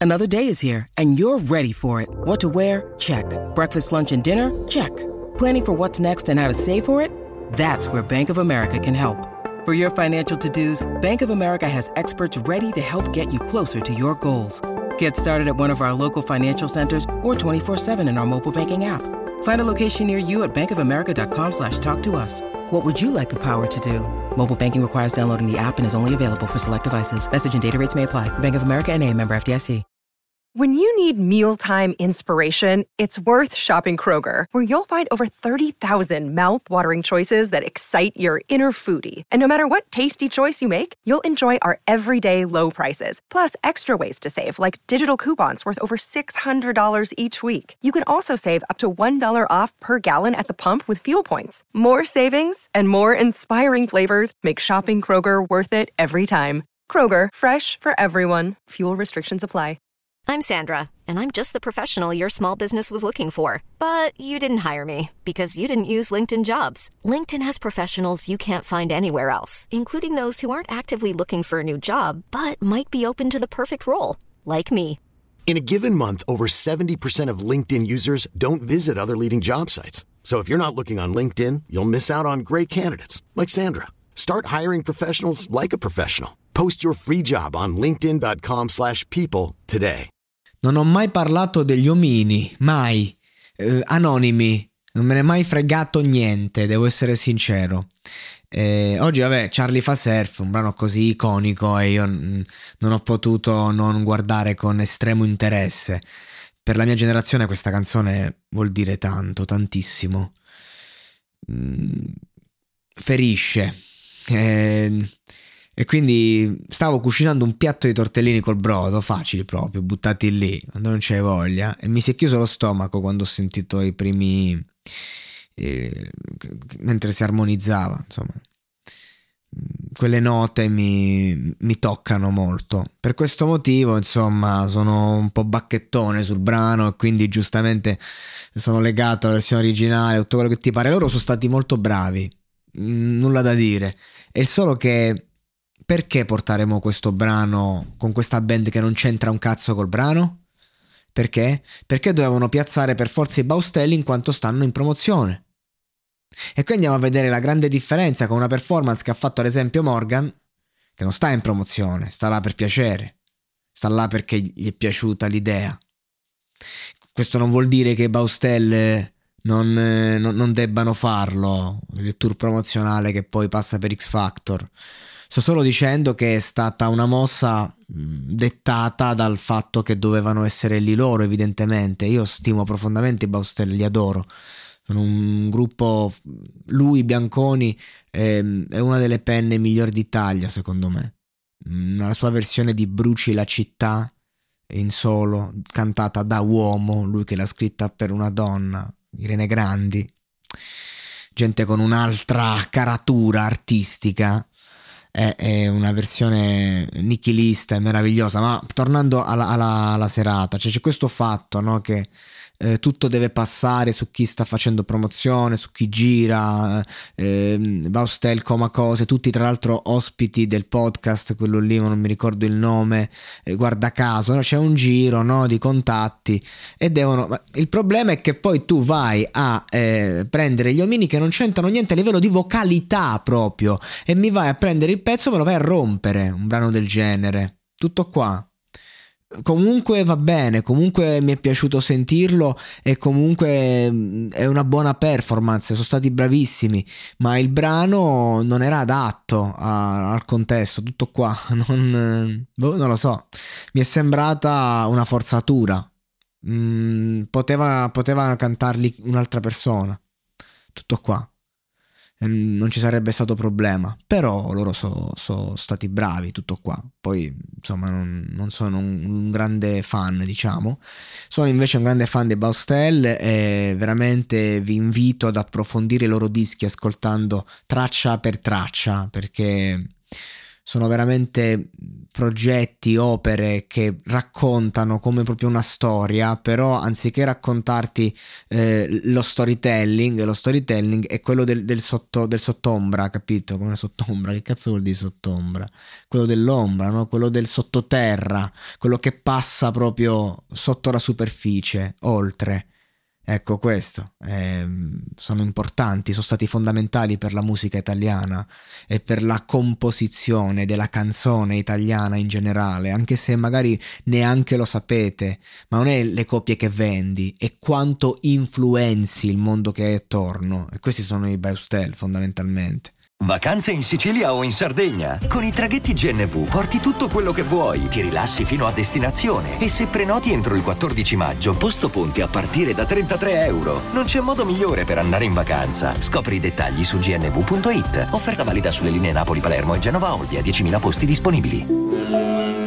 Another day is here, and you're ready for it. What to wear? Check. Breakfast, lunch, and dinner? Check. Planning for what's next and how to save for it? That's where Bank of America can help. For your financial to-dos, Bank of America has experts ready to help get you closer to your goals. Get started at one of our local financial centers or 24/7 in our mobile banking app. Find a location near you at bankofamerica.com/talktous. What would you like the power to do? Mobile banking requires downloading the app and is only available for select devices. Message and data rates may apply. Bank of America N.A., member FDIC. When you need mealtime inspiration, it's worth shopping Kroger, where you'll find over 30,000 mouth-watering choices that excite your inner foodie. And no matter what tasty choice you make, you'll enjoy our everyday low prices, plus extra ways to save, like digital coupons worth over $600 each week. You can also save up to $1 off per gallon at the pump with fuel points. More savings and more inspiring flavors make shopping Kroger worth it every time. Kroger, fresh for everyone. Fuel restrictions apply. I'm Sandra, and I'm just the professional your small business was looking for. But you didn't hire me because you didn't use LinkedIn Jobs. LinkedIn has professionals you can't find anywhere else, including those who aren't actively looking for a new job, but might be open to the perfect role, like me. In a given month, over 70% of LinkedIn users don't visit other leading job sites. So if you're not looking on LinkedIn, you'll miss out on great candidates, like Sandra. Start hiring professionals like a professional. Post your free job on linkedin.com/people today. Non ho mai parlato degli omini, mai. Anonimi, non me ne è mai fregato niente, devo essere sincero. Oggi, vabbè, Charlie fa surf, un brano così iconico, e io non ho potuto non guardare con estremo interesse. Per la mia generazione questa canzone vuol dire tanto, tantissimo. Ferisce. E quindi stavo cucinando un piatto di tortellini col brodo, facili proprio, buttati lì quando non c'hai voglia, e mi si è chiuso lo stomaco quando ho sentito i primi mentre si armonizzava, insomma, quelle note mi toccano molto. Per questo motivo, insomma, sono un po' bacchettone sul brano e quindi giustamente sono legato alla versione originale, tutto quello che ti pare. Loro sono stati molto bravi, nulla da dire. È solo che perché porteremo questo brano con questa band che non c'entra un cazzo col brano? Perché? Perché dovevano piazzare per forza i Baustelli in quanto stanno in promozione. E qui andiamo a vedere la grande differenza con una performance che ha fatto ad esempio Morgan, che non sta in promozione, sta là per piacere, sta là perché gli è piaciuta l'idea. Questo non vuol dire che i Baustelle non debbano farlo, il tour promozionale che poi passa per X Factor. Sto solo dicendo che è stata una mossa dettata dal fatto che dovevano essere lì loro, evidentemente. Io stimo profondamente i Baustelle, li adoro. Sono un gruppo, lui, Bianconi, è una delle penne migliori d'Italia, secondo me. La sua versione di Bruci la città in solo, cantata da uomo, lui che l'ha scritta per una donna, Irene Grandi, gente con un'altra caratura artistica. È una versione nichilista e meravigliosa. Ma tornando alla serata, cioè c'è questo fatto, no, che tutto deve passare su chi sta facendo promozione, su chi gira, Baustel, Coma Cose, tutti tra l'altro ospiti del podcast, quello lì, ma non mi ricordo il nome, guarda caso, no? C'è un giro, no, di contatti e devono. Il problema è che poi tu vai a prendere gli omini che non c'entrano niente a livello di vocalità proprio, e mi vai a prendere il pezzo e me lo vai a rompere, un brano del genere. Tutto qua. Comunque va bene, comunque mi è piaciuto sentirlo e comunque è una buona performance, sono stati bravissimi, ma il brano non era adatto al contesto, tutto qua. Non lo so, mi è sembrata una forzatura. Poteva cantarli un'altra persona, tutto qua. Non ci sarebbe stato problema, però loro sono stati bravi, tutto qua. Poi insomma non sono un grande fan, diciamo. Sono invece un grande fan dei Baustelle e veramente vi invito ad approfondire i loro dischi ascoltando traccia per traccia, perché sono veramente progetti, opere che raccontano come proprio una storia, però anziché raccontarti lo storytelling è quello del sottombra, capito? Come sottombra, che cazzo vuol dire sottombra? Quello dell'ombra, no? Quello del sottoterra, quello che passa proprio sotto la superficie, oltre. Ecco, questo sono importanti, sono stati fondamentali per la musica italiana e per la composizione della canzone italiana in generale, anche se magari neanche lo sapete, ma non è le copie che vendi, è quanto influenzi il mondo che hai attorno, e questi sono i Baustel fondamentalmente. Vacanze in Sicilia o in Sardegna? Con i traghetti GNV porti tutto quello che vuoi, ti rilassi fino a destinazione e se prenoti entro il 14 maggio, posto ponti a partire da €33. Non c'è modo migliore per andare in vacanza. Scopri i dettagli su gnv.it. Offerta valida sulle linee Napoli-Palermo e Genova-Olbia, 10.000 posti disponibili.